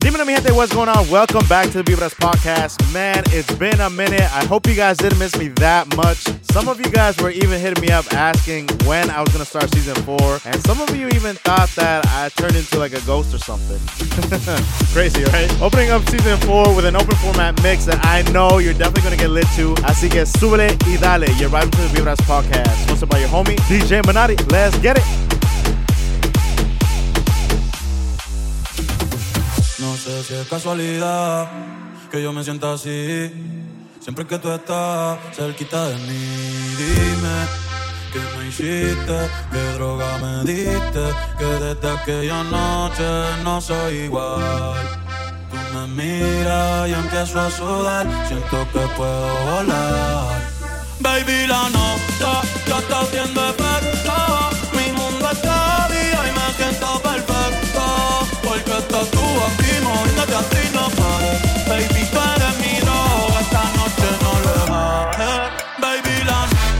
Dímelo, mi gente, what's going on? Welcome back to the Vibras Podcast. Man, it's been a minute. I hope you guys didn't miss me that much. Some of you guys were even hitting me up asking when I was going to start season 4. And some of you even thought that I turned into like a ghost or something. Crazy, right? Opening up season 4 with an open format mix that I know you're definitely going to get lit to. Así que súbele y dale. You're right into the Vibras Podcast. Hosted by your homie, DJ Manati. Let's get it. No sé si es casualidad que yo me sienta así siempre que tú estás cerquita de mí. Dime qué me hiciste, qué droga me diste, que desde aquella noche no soy igual. Tú me miras y empiezo a sudar, siento que puedo volar. Baby, la nota ya está haciendo efecto, mi mundo está día y me siento perfecto, porque estás tú aquí moviéndote así no pares. Baby, tú eres mi droga, esta noche no le bajes. Baby, la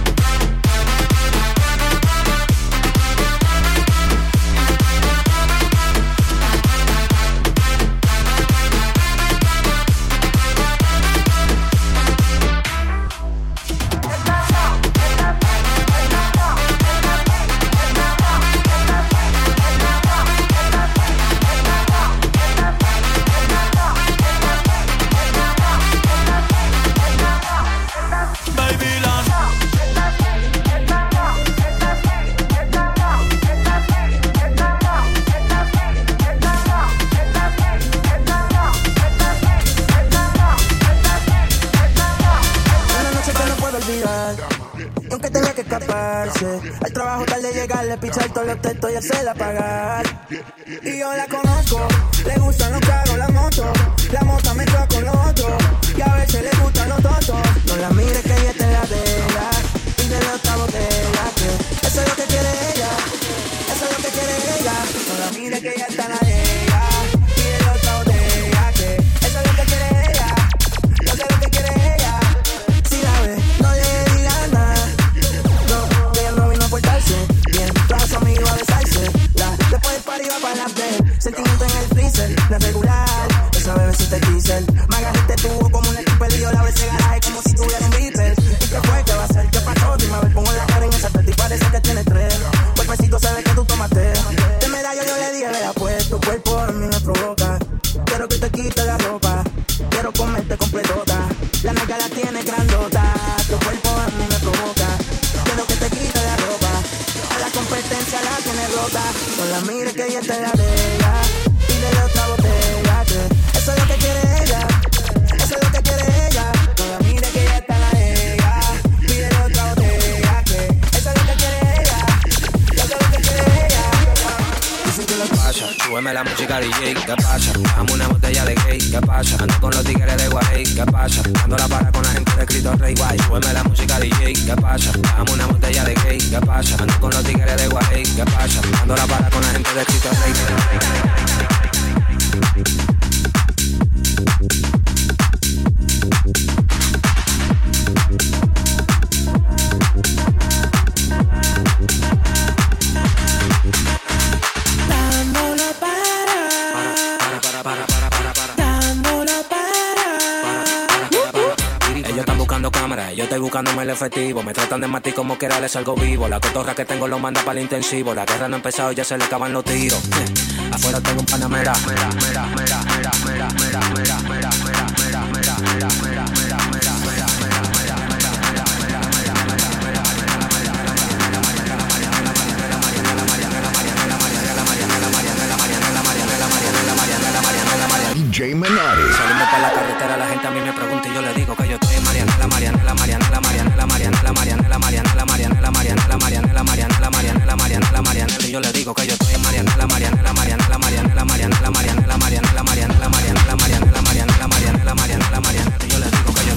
al trabajo tarde llegarle, pichar todos los textos y hacerla pagar. Y yo la conozco, le gustan los carros, la moto me choca con los otros, y a veces le gustan los tontos. No la mires que ella está en la vela, pídele otra botella, que eso es lo que quiere ella, eso es lo que quiere ella. No la mires que ella está en la de ella, pídele otra botella, que eso es lo que quiere ella, yo sé lo que quiere ella. Si la ve, no le digas nada. Bien, toda su amiga iba a besarse. Después del party iba para la play. Sentimiento en el freezer, no es regular. Esa bebé si te diesel. Me agarraste tubo como un stripper y yo la abrí ese garaje como si tuviera un beeper. ¿Y qué fue? ¿Qué va a hacer? ¿Qué pasó? Dime a ver, pongo la cara en esa teta y parece que tiene 3. Cuerpecito se ve que tú tomaste. De medallo yo le dije, vea pues, tu cuerpo a mí me provoca. Quiero que te quite la ropa, quiero comerte completota. La nalga la tiene grandota, tu cuerpo a mí me provoca. Quiero que te quite la ropa, a la competencia la tiene rota. No la mires que ella está en la de ella, pídele otra botella, que eso es lo que quiere ella, eso es lo que quiere ella. No la mires que ella está en la de ella, pídele otra botella, que eso es lo que quiere ella, yo sé lo que quiere ella. ¿Qué pasa? Súbeme la música DJ, ¿qué pasa? Dame una botella de gay, ¿qué pasa? Ando con los tigres de Guay, ¿qué pasa? Ando la para con la gente de Cristo Rey, guay. Súbeme la música DJ, ¿qué pasa? Dame una botella de gay, ¿qué pasa? Ando con los tigres de Guay, ¿qué pasa? Ando la para con la gente de Cristo Rey. Yo estoy buscándome el efectivo, me tratan de matar como quiera les salgo vivo. La cotorra que tengo lo manda para el intensivo. La guerra no ha empezado, ya se le acaban los tiros. Afuera tengo un panamera. DJ Manati. Saliendo para la carretera, la gente a mí me pregunta y yo le digo que yo estoy en Marianela. Y yo le digo que yo estoy en Marianela. Y yo le digo que yo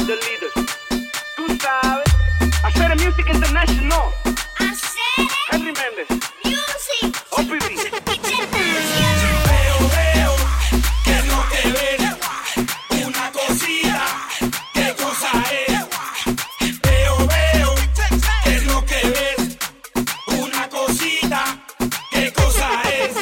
the leaders. Tú sabes, hacer music international. Hacer Henry Méndez, music. OPB. Veo, ¿qué es lo que ves? Una cosita, ¿qué cosa es? Veo, ¿qué es lo que ves? Una cosita, ¿qué cosa es?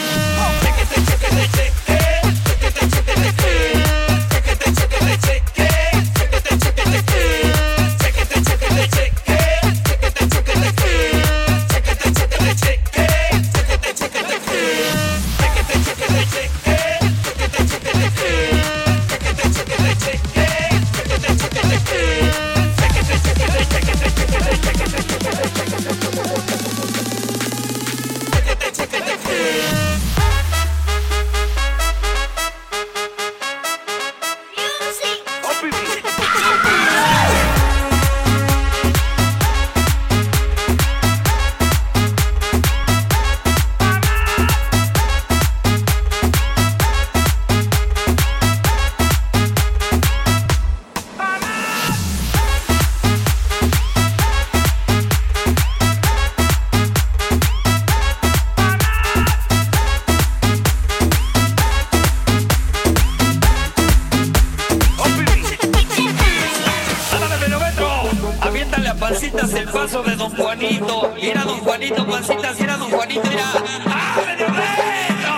Pancitas el paso de Don Juanito. Mira Don Juanito, pancitas, mira Don Juanito, mira. ¡Ah, medio metro!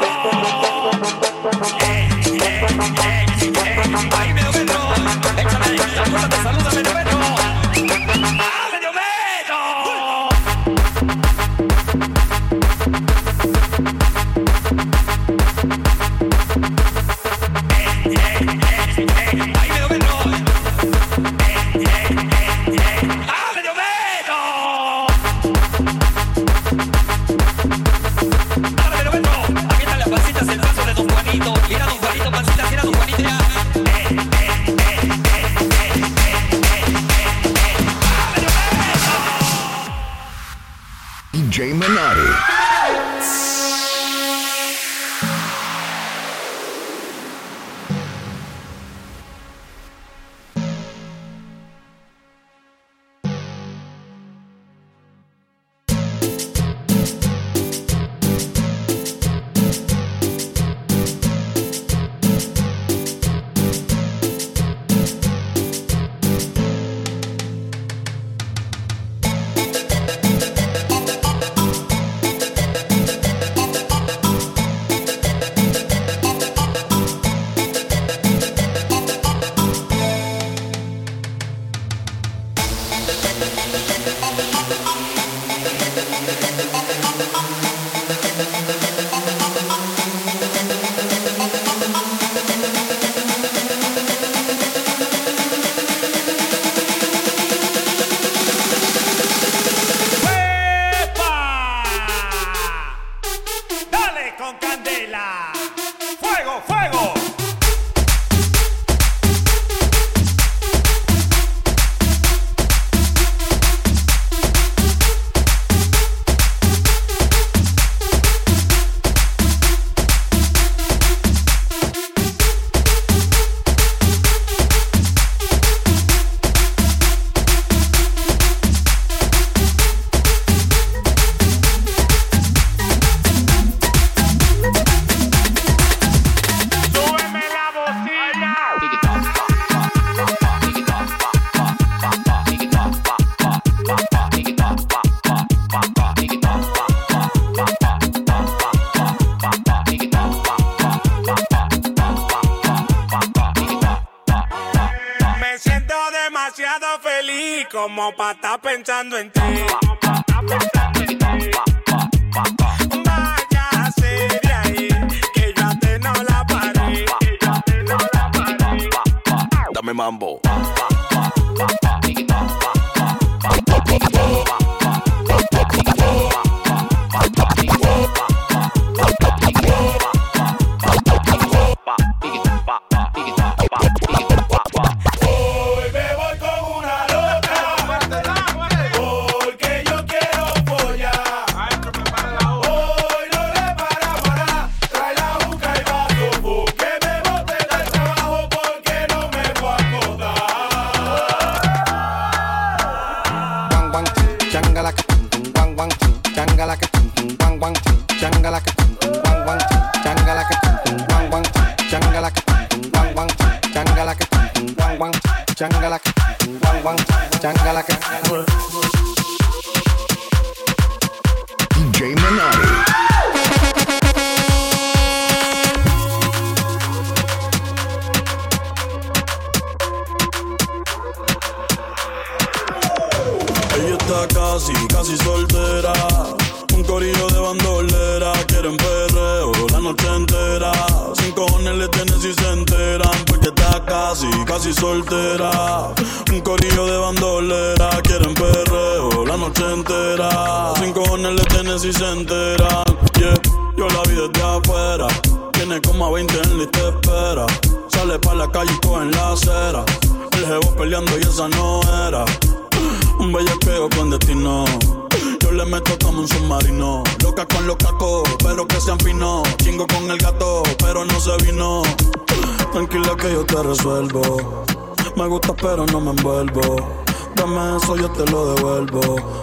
Ahí medio metro. Échale, la puerta te saluda, medio metro. ¡Ah, medio metro! Ahí medio metro. DJ Minotti. Como pa' estar pensando en ti. Váyase de ahí, que yo a te no la paré. Dame mambo. Que me bote del trabajo porque no me voy a acordar. Changalaca, guan guan, changalaca. DJ Minotti. Ella está casi soltera. Un corillo de bandolera. Quieren perreo la noche entera. Sin cojones le tienen si se enteran. Porque está casi soltera. Un corillo de bandolera. Quieren perreo la noche entera. Sin cojones le tienen si se enteran. Yeah, yo la vi desde afuera. Tiene como a 20 en lista de espera. Sale pa' la calle y coge en la acera. El jevo peleando y esa no era. Un bellaqueo con destino. Yo le meto como un submarino. Loca con los cacos, pero que sean finos. Chingo con el gato, pero no se vino. Tranquila que yo te resuelvo. Me gusta pero no me envuelvo. Dame eso, yo te lo devuelvo.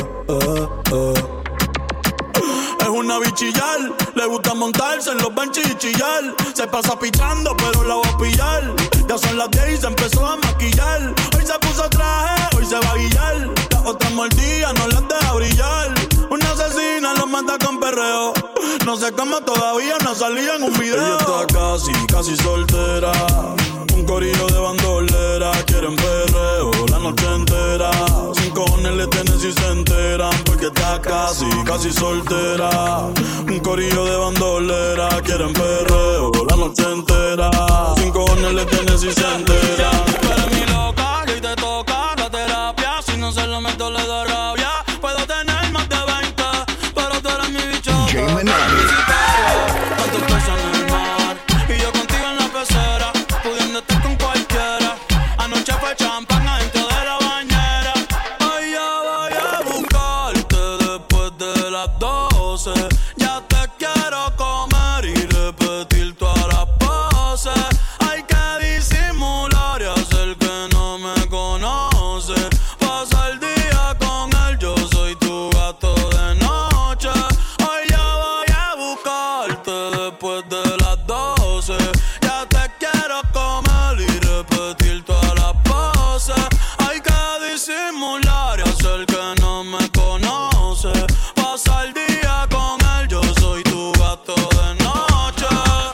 Es una bichillar, le gusta montarse en los benches y chillar. Se pasa pichando, pero la voy a pillar. Ya son las 10 y se empezó a maquillar. Hoy se puso traje, hoy se va a guillar. Las otras mordidas no las deja brillar. Una asesina lo mata con perreo. No sé cómo todavía no salía en un video. Ella está casi soltera. Un corillo de bandolera. Quieren perreo la noche entera. Sin cojones le tienen si se enteran. Porque está casi soltera. Un corillo de bandolera. Quieren perreo la noche entera. Sin cojones le tienen si se enteran. Tú eres mi loca y te toca la terapia. Si no se lo meto le da rabia. Puedo tener más de 20, pero tú eres mi bicho. DJ Minotti. Tantos peces en el mar y yo contigo en la pecera, pudiendo estar con cualquiera. Anoche fue champán adentro de la bañera. Ay, ya voy a buscarte después de las 12. Ya te quiero comer y repetir todas las poses. Hay que disimular y hacer que no me conoce. Pasa el día con él, yo soy tu gato de noche. Hoy ya voy a buscarte después de las 12. Ya te quiero comer y repetir todas las poses. Hay que disimular y hacer que no me conoce. Pasa el día con él, yo soy tu gato de noche.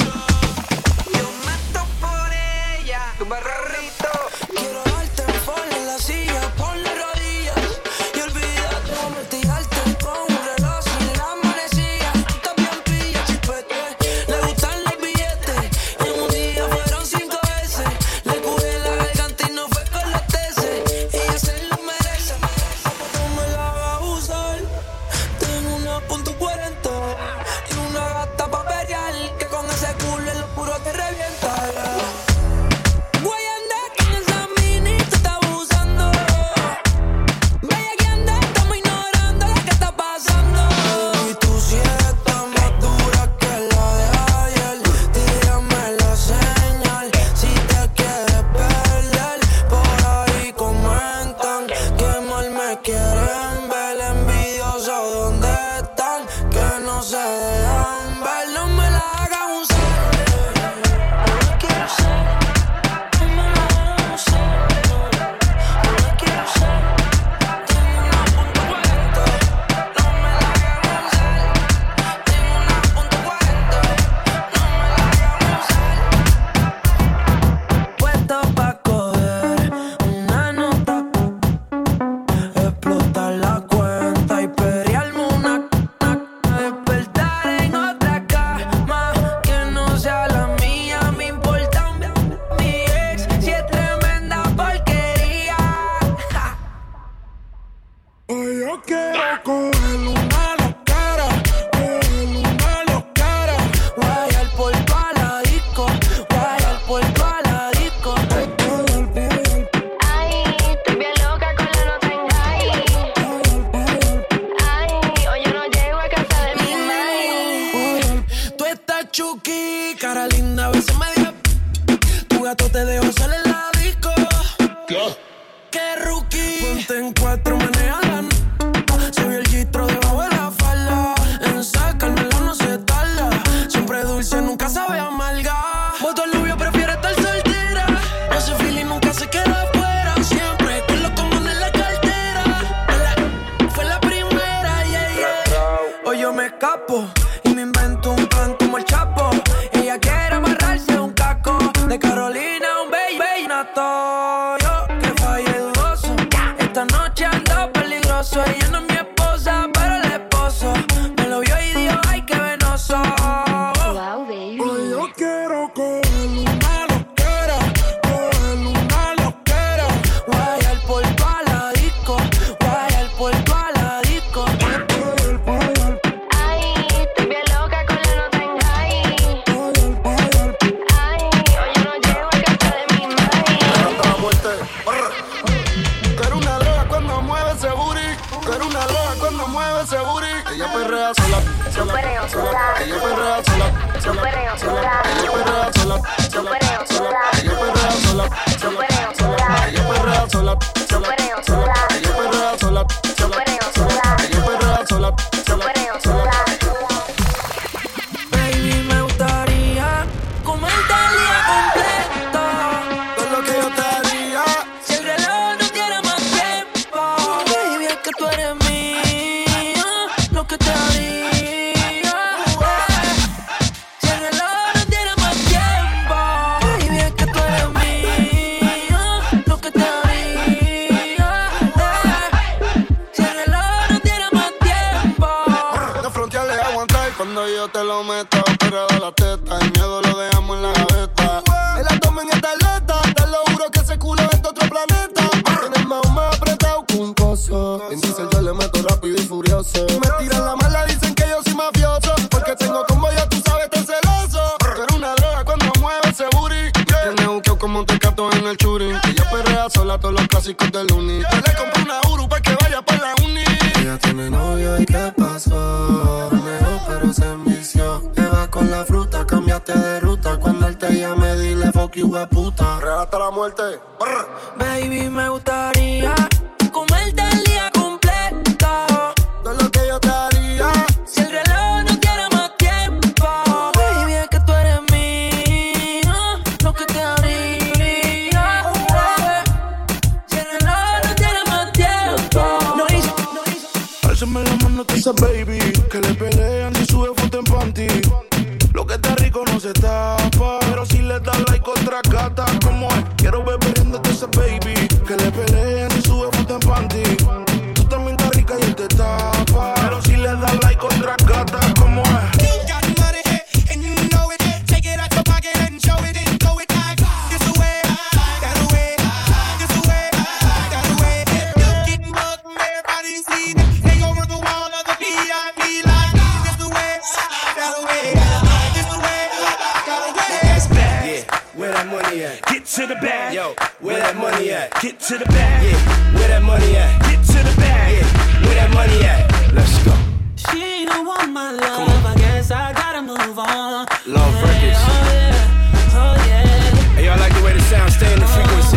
Yo mato por ella, tu barrarrito. Quiero darte en forma en la silla, pon las rodillas y olvídate de meterte con un reloj sin la manecilla. Tú también pilla chipete, le gustan los billetes. En un día fueron 5 veces, le cubrí la garganta y no fue con los teces. Ella se lo merece, no me la va a usar. Tengo una .40 y una gata pa' pelear, que con ese culo en lo puro te revienta. Voy a andar con esa mini, tú estás abusando. Vaya que anda, estamos ignorando lo que está pasando. Y tú si estás más dura que la de ayer. Tírame la señal si te quieres perder. Por ahí comentan que mal me quieren ver. Envidioso, ¿dónde están? Que no se dejan ver. No me la hagan usar. No la quiero usar. No me la hagan usar. No la quiero usar. Tengo una .40. No me la hagan usar. Tengo una .40. No me la hagan usar. Puesto pa' coger una nota, explotar la cuenta y pelearme una despertar en otra cama que no sea la mía. Me importa mi ex si es tremenda porquería. Hoy yo quiero coger una loquera, Guayar por toda la disco, guayar por toda la disco. Ay, estoy bien loca con la nota en high. Ay, hoy yo no llego a casa de mi madre. Tú estás chuki, cara linda, a veces media. Tu gato te dejo salir en la disco. ¿Qué rookie? Ponte en 4, maneja la se vio el gistro debajo de la falda. En sacármela no se tarda. Siempre dulce, nunca sabe amarga. Voto al novio, prefiere estar soltera. Ese feeling nunca se queda afuera. ese booty. Ella perrea sola, sola, sola. Ella perrea sola, sola, sola. Ella perrea sola, sola, sola. Ella perrea sola, sola, sola. Ella perrea sola, sola, sola. Ella perrea sola, sola, sola. Ella perrea sola, sola, sola. Baby, me gustaría comerte el día completo. Todo lo que yo te haría. Si el reloj no tiene más tiempo, baby, es que tú eres mía. Lo que te haría. Si el reloj no tiene más tiempo, baby, es que tú eres mía. Lo que te haría. Si el reloj no tiene más tiempo. De frontearle aguantar cuando yo te lo meto. Pero de la teta, el miedo lo dejamos en la gaveta. El abdomen está alerta, te lo juro que ese culo es de otro planeta. Tienes más apretado que un coso. En diesel yo le meto rápido y furioso. Me tiran la mala, dicen que yo soy mafioso. Porque tengo combo, ya tú sabes, tan celoso. Pero una droga cuando mueve ese booty. Tiene buqueo como un tecato en el churi. Ella perrea sola todos los clásicos del uni. Yo le compré una Uru para que vaya para la uni. Ella tiene novio y ¿qué pasó? Mejor pero se envició. Lleva con la fruta, cambiaste de ruta. Cuando él te llame, dile fuck you, puta. Real hasta la muerte. Brr. Baby, me gustaría comerte el día completo. Todo lo que yo te haría. Si el reloj no tiene más tiempo, baby, es que tú eres mía. Lo que te haría. Si el reloj no tiene más tiempo. Álzame la mano, te dice baby. Que le pelean y sube foto en panty. Lo que está rico no se tapa. Pero si le das like otra gata, como es, quiero beber riéndote ese baby. Que le pelean y sube foto en panty. Tú también estás rica y él te tapa. Pero si le das like otra gata, como es. Get to the bag. Yo, where that money at? Get to the bag. Yeah, where that money at? Get to the bag. Yeah, where that money at? Let's go. She don't want my love, I guess I gotta move on. Love Records. Oh yeah, oh yeah. Hey, y'all like the way the sound stay in the frequency.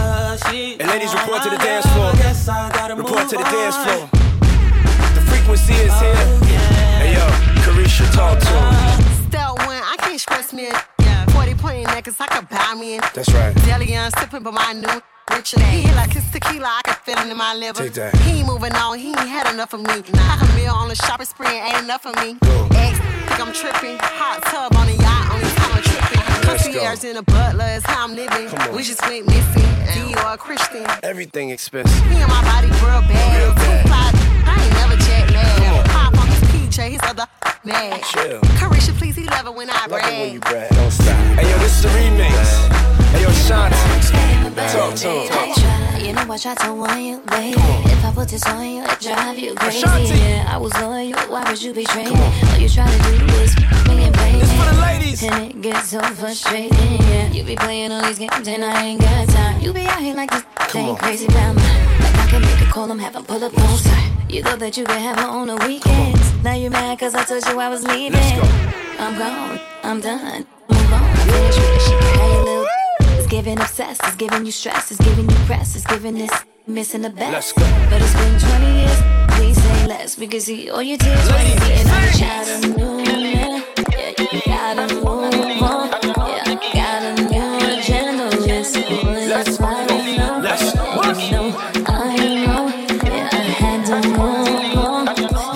And ladies, report to the dance floor. Report to the dance floor. The frequency is here. Hey yo, Carisha, talk to him. Still one, I can't express me. 40 point necklace, I could buy me. That's right. Deli young sipping, but my new richer. He hit like his tequila, I can feel it in my liver. Take that. He ain't moving on, he ain't had enough of me. Half a meal on the shopping spree ain't enough of me. Ex, think I'm tripping. Hot tub on a yacht, only time I'm tripping. Concierge in a butler is how I'm living. We just went missing. Dior Christian. Everything expensive. Me and my body real bad. Too fly, I ain't never jet lag. Pop on his PJ, his other mad. Chill. Carisha, please, he love it when I brag. When you brag. Don't stop. Hey yo, this is a remix. Hey yo, Shanti. Talk to him. You know I try to warn you, baby. If I put this on you, it drive you crazy. Yeah, I was loyal, why would you betray me? All you try to do is me and play. This for the ladies. And it gets so frustrating, yeah. You be playing all these games and I ain't got time. You be out here like this thing crazy about me. Like I can make a call, I'm having pull up close. You thought that you could have her on the weekends. Now you mad cause I told you I was leaving. I'm gone, I'm done, move on. I finish with this shit, how you little. It's giving obsessed, it's giving you stress, it's giving you press, it's giving this missing the best. Let's go. But it's been 20 years, please say less. We can see all your tears when you see and I'm shouting new, yeah. Yeah, you gotta move on, yeah. Got a new agenda, that's why we know, you know, I know, yeah, I had to move on,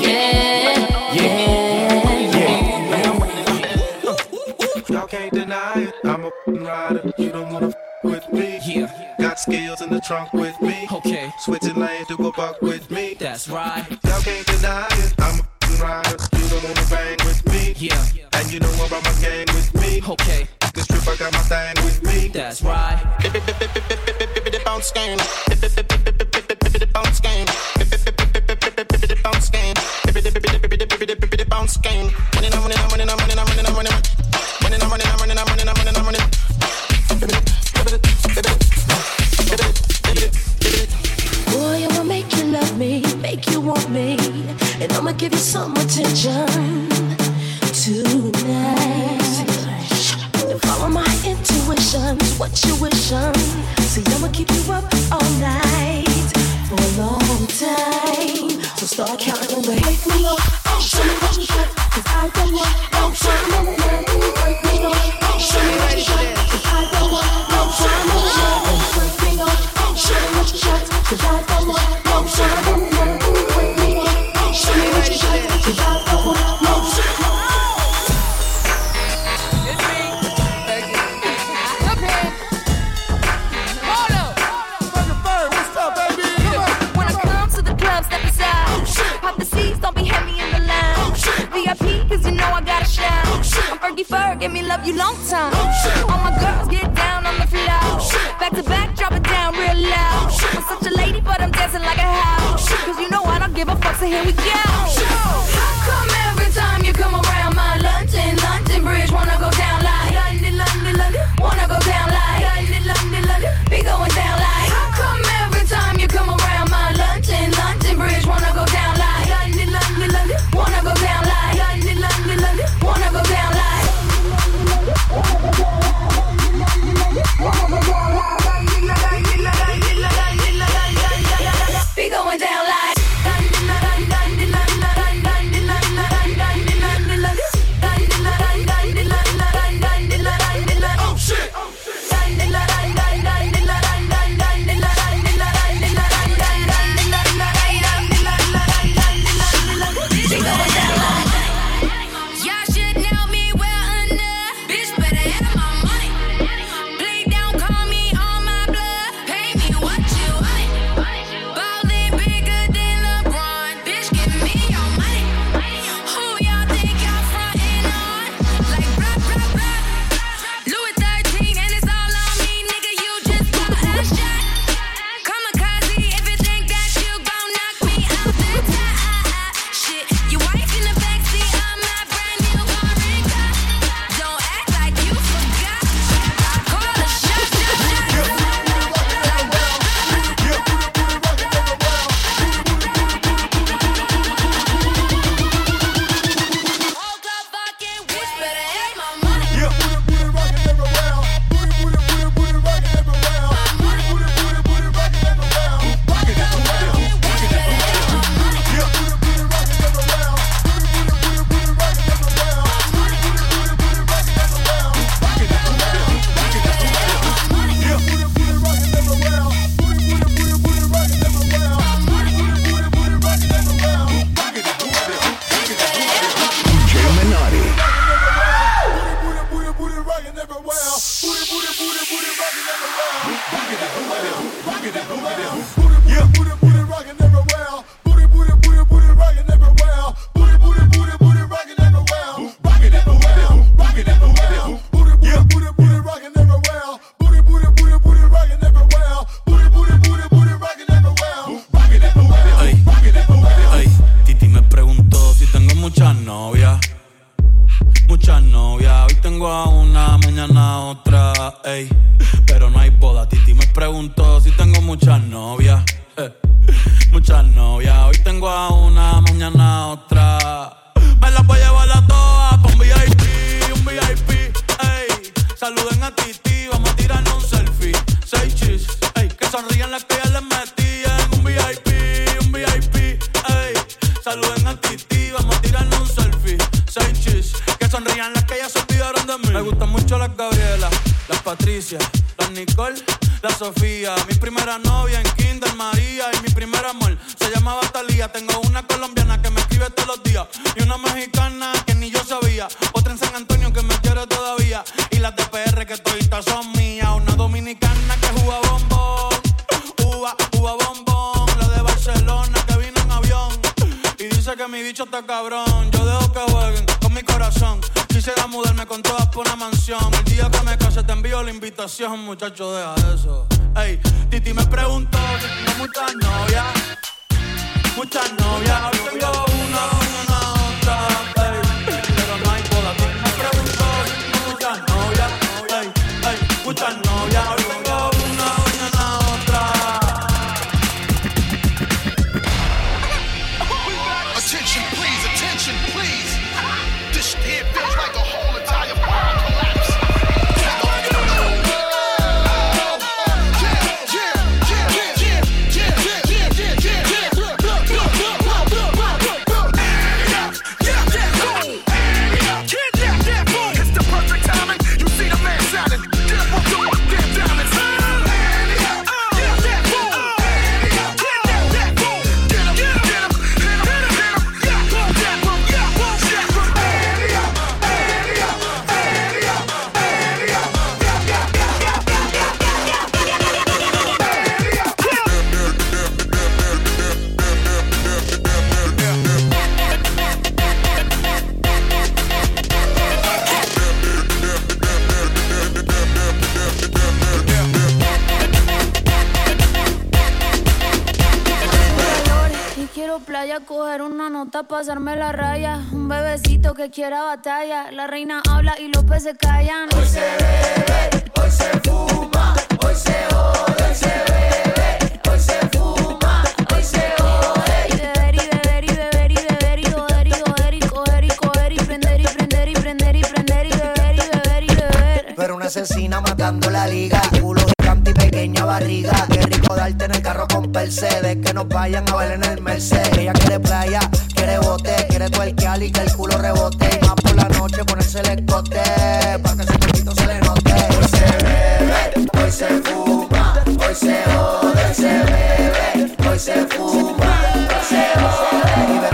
Y'all can't deny it, I'm a rider, you don't wanna with me. Yeah. Got skills in the trunk with me. Okay. Switching lanes to go buck with me. That's right. Y'all can't deny it, I'm a rider, you don't wanna bang with me. Yeah. And you know about my gang with me. Okay. This trip I got my thing with me. That's right. Bounce game. Bounce game. Bounce game. Bounce game. Boy, I will make you love me, make you want me, and I'ma give you some attention tonight. And follow my intuition, what you wishin'. See, I'ma keep you up all night for a long time. So start counting away. Wake me up, show me what you got, 'cause I don't want no time in the night. Wake me up, show me what you got, 'cause I don't want no time in the night. Wake me up, show me what you got, 'cause I don't want no time in the night. Wake me up, show me what you got, 'cause I don't want no time. Don't be heavy in the lounge. VIP, cause you know I gotta shout. I'm Fergie Ferg, give me love you long time. All my girls get down on the floor. Back to back, drop it down real loud. I'm such a lady, but I'm dancing like a house. Cause you know I don't give a fuck, so here we go. How come every time you come around my London Bridge wanna go down like London, wanna go down like London, be going down like. How come every time you come around my London Bridge wanna go down like London, wanna go down like London, wanna go down like. Be going down like. Oh shit. Muchas novias, hoy tengo a una, mañana a otra, ey. Pero no hay boda, Titi me preguntó si tengo muchas novias, muchas novias, hoy tengo a una, mañana a otra. Me las voy a llevar a todas pa' un VIP, ey. Saluden a Titi, vamos a tirarnos un selfie. 6 chis, ey. Que sonrían las que ya les metí en un VIP, ey. Saluden a Titi, vamos a tirarnos un selfie. 6 chis, que sonrían las que ya se olvidaron de mí. Me gustan mucho las Gabriela, las Patricia, las Nicole, la Sofía. Mi primera novia en Kinder María y mi primer amor se llamaba Talía. Tengo una colombiana que me escribe todos los días y una mexicana que ni yo sabía. Otra en San Antonio que me quiere todavía y las de PR que toditas son mías. Una dominicana que juega bombón, uva bombón. La de Barcelona que vino en avión y dice que mi bicho está cabrón. Yo dejo que jueguen con mi corazón. Quisiera mudarme con todas por una mansión. El día que me case te envío la invitación, muchacho, deja eso. Ey, Titi me preguntó si tengo muchas novias. Muchas novias, hoy tengo una, mañana otra, ey. Pero no hay boda. Titi me preguntó si tengo muchas novias. Ey, muchas novias, hoy tengo una, mañana otra. Attention. pa' playa, coger una nota, pasarme la raya. Un bebecito que quiera batalla. La reina habla y los peces callan. Hoy se bebe, hoy se fuma, hoy se jode, hoy se bebe, hoy se fuma, hoy se jode. Y beber y beber y beber y beber y joder y joder y coger y coger y prender y prender y prender y prender y beber y beber y beber. Pero una asesina matando la liga, culo gigante y pequeña barriga. Qué rico darte en el carro con Mercedes, que nos vayan a ver en el Mercedes. Ella quiere playa, quiere bote, quiere tuerquear y que el culo rebote. Y más por la noche ponerse el escote, pa' que ese poquito se le note. Hoy se bebe, hoy se fuma, hoy se jode, hoy se bebe, hoy se fuma, hoy se jode.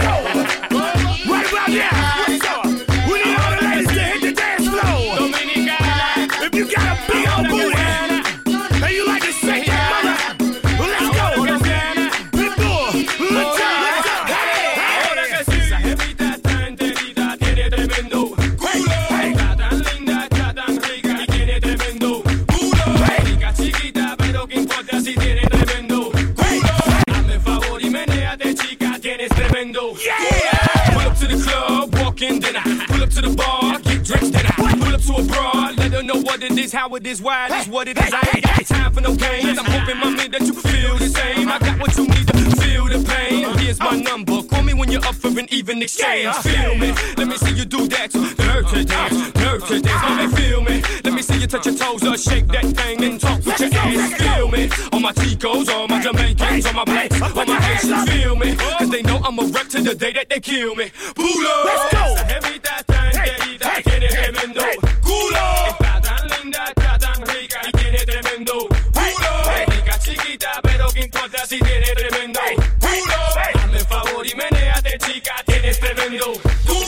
Right about now, what's up? We need all the ladies to hit the dance floor. Dominicana, if you got a big old booty and you like to shake that mother, well, let's go. Pitbull, let's go. Ahora que sí, esa jevita está enterita, tiene tremendo culo. Está tan linda, está tan rica y tiene tremendo culo. Rica chiquita, pero qué importa si tiene tremendo culo. Hazme favor y menéate, chica, tienes tremendo culo. Pull up to the club, walk in, then I pull up to the bar, get drinks, then I pull up to a broad, let her know what it is, how it is, why it is, what it is. I ain't got time for no games. I'm hoping, mommy, that you feel the same. I got what you need to feel the pain. Here's my number. Call me when you're up for an even exchange. Feel me? Let me see you do that. Dirty dance, dirty dance. Mommy, feel me? Let me see you touch your toes or shake that thing and talk with your ass. Feel me? All my Chicos, all my Jamaicans, all my blacks, all my Haitians. Feel me? Cause they know I'm a wreck to the day that they kill me. Pulo. Let's go. Esa jevita tan querida, tiene tremendo culo. Está tan linda, está tan rica y tiene tremendo culo. Rica chiquita, pero qué importa si tiene tremendo culo. Hazme favor y menéate, chica, tienes tremendo culo.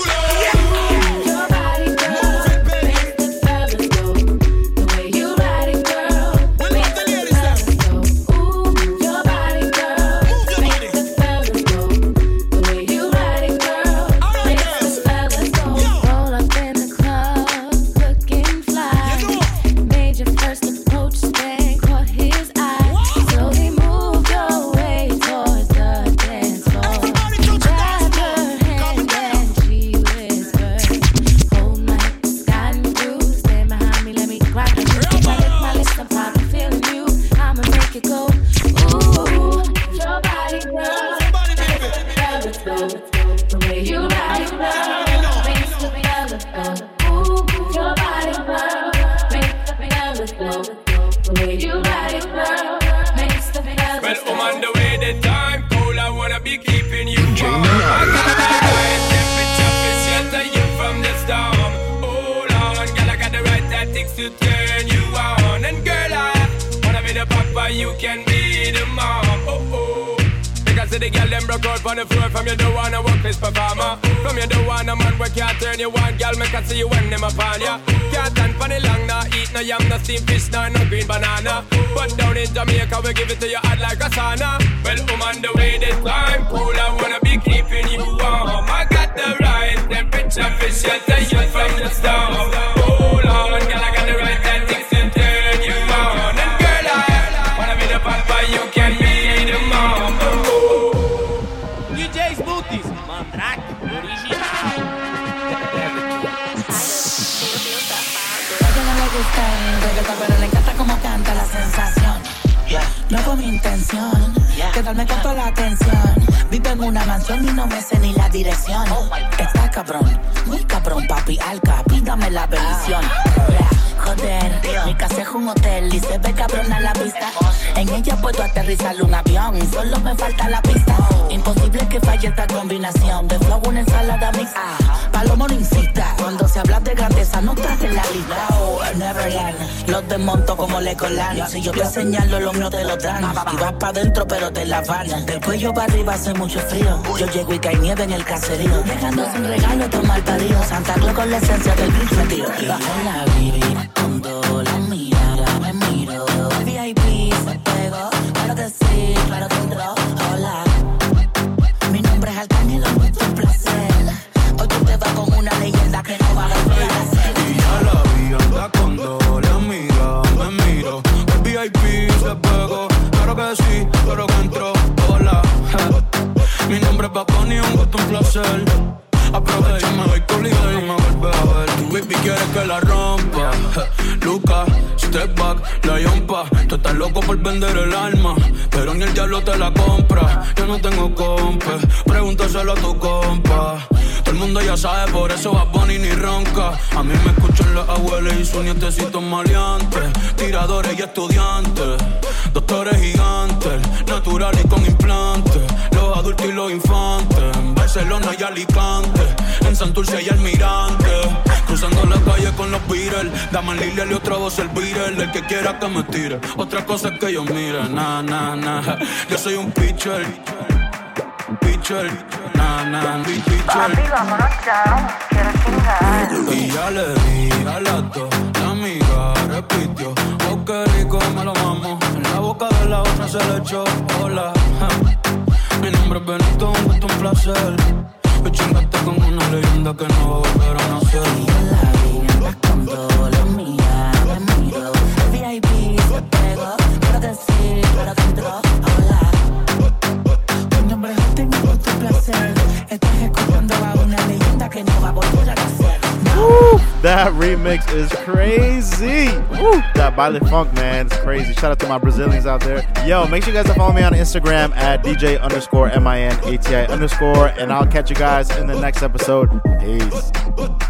Your body, girl, makes the fellas go. The way you ride it, girl, makes the fellas go. Ooh, your body, girl, makes the fellas go. The way you ride it, girl, makes the fellas go. Roll up in the club, looking fly. Made your first approach, then caught his eye. So he moved your way towards the dance floor. Grabbed her hand and she whispered, "Hold my got you, stand behind me, let me grab you. My lips, I'm probably feeling you. I'ma make it go. Ooh, your body, girl, fellas go. The way you ride it, girl, makes the fellas go. Ooh, your body, girl, makes the fellas go. The way you ride it, girl, makes the fellas Well, go. I'm on the way, the time cold, I wanna be keeping you warm. I got the right temperature to shelter you from the storm. Hold on, girl, I got the right tactics to turn you on. And girl, I wanna be the papa, you can be the mom. Oh, oh. Because the girl them broke out on the floor. From you don't wanna work this performer. From you don't wanna man where can't turn you on. Girl, make I see you when them upon ya. Can't stand for the long, nah eat no yam, no steamed fish, nah no green banana. But down in Jamaica we give it to you hot like a sauna. Well, I'm on the way, this time cool, I wanna be keeping you warm. I got the right temperature for shelter you from the storm. Hold on, girl, I got the right tactics to turn you on. And girl, I wanna be the papa, you can be the mom. DJ Smoothies, Mandrake, original. Ella no le gusta el reggaetón, pero le encanta cómo canta la sensación. No fue mi intención quedarme con toda la atención. Vivo en una mansión y no me sé ni la dirección. Está cabrón, muy cabrón, papi, alca, pídame la bendición. Joder, mi casa es un hotel y se ve cabrón a la vista. En ella puedo aterrizar un avión y solo me falta la pista. Imposible que falle esta combinación de flow, una ensalada mixta. Palomo no insista, cuando se habla de grandeza no estás en la lista. Oh, Neverland, los desmonto como Legoland. Si yo te señalo, lo mío te lo dan. Y vas pa' dentro pero te la van. Del cuello para arriba hace mucho frío. Yo llego y cae nieve en el caserío. Dejando sin regalo todo mal parido. Santa Claus con la esencia del gris metido. Hola, baby, cuando la mirada me miro. El VIP se pegó, claro que sí, claro que entró. Hola, mi nombre es Arcángel, mucho placer. Hoy tú te vas con una leyenda que no va a volver a ser. Y ya la vi, anda cuando la mira, me miro. El VIP se pegó, claro que sí, claro que entró. Hola, Mi nombre es Bad Bunny, un gusto, un placer. Aprovechame, voy collido y no me vuelves a ver. Tu baby quiere que la rompa. Lucas, step back, la yompa. Tú estás loco por vender el alma, pero ni el diablo te la compra. Yo no tengo compa, pregúntaselo a tu compa. Todo el mundo ya sabe, por eso Bad Bunny ni ronca. A mí me escuchan las abuelas y sus nietecitos maleantes. Tiradores y estudiantes, doctores gigantes, naturales y con implantes. Los adultos y los infantes, en Barcelona y Alicante, en Santurce y Almirante. Cruzando la calle con los Beatles, Daman Lilial y otra voz el Beatle. El que quiera que me tire, otra cosa es que yo mire. Nah, nah, nah, yo soy un pitcher. Pitcher, nah, nah, pitcher. Papi, vámonos ya, quiero chingar. Y ya le di a las dos, la amiga repitió. Oh, qué rico me lo mamo. En la boca de la otra se le echó. Hola, mi nombre es Benito, un gusto, un placer. Me chingaste con una leyenda que no va a volver a nacer. Y en la vida andas con todo lo mía, me miro. VIP se pegó, claro que sí, claro que entró. Hola, mi nombre es Justin, un gusto, un placer. Estás escuchando a una leyenda que no va a volver a nacer. Woo, that remix is crazy. Woo, that baile funk, man, it's crazy. Shout out to my Brazilians out there. Yo, make sure you guys follow me on Instagram at DJ_MINATI_, and I'll catch you guys in the next episode. Peace.